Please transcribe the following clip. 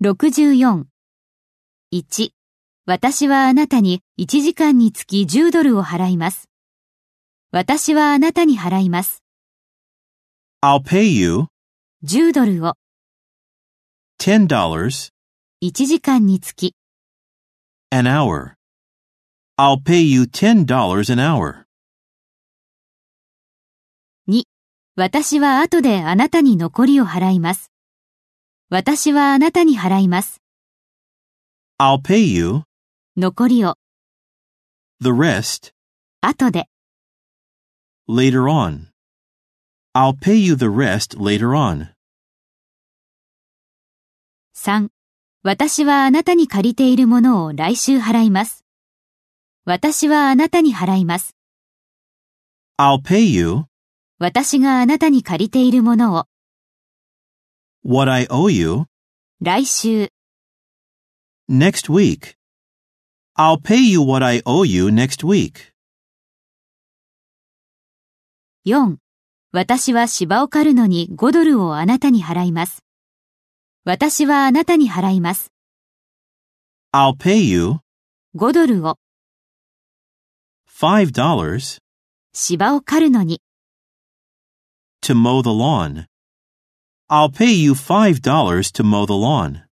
64。1、私はあなたに1時間につき10ドルを払います。私はあなたに払います。 I'll pay you 10ドルを $10 1時間につき an hour. I'll pay you $10 an hour. 2、私は後であなたに残りを払います。私はあなたに払います。 I'll pay you 残りを the rest 後で later on. I'll pay you the rest later on. 3、私はあなたに借りているものを来週払います。私はあなたに払います。 I'll pay you 私があなたに借りているものを what I owe you 来週 next week. I'll pay you what I owe you next week. 4、私は芝を刈るのに5ドルをあなたに払います。私はあなたに払います。 I'll pay you 5ドルを $5 芝を刈るのに to mow the lawn. I'll pay you $5 to mow the lawn.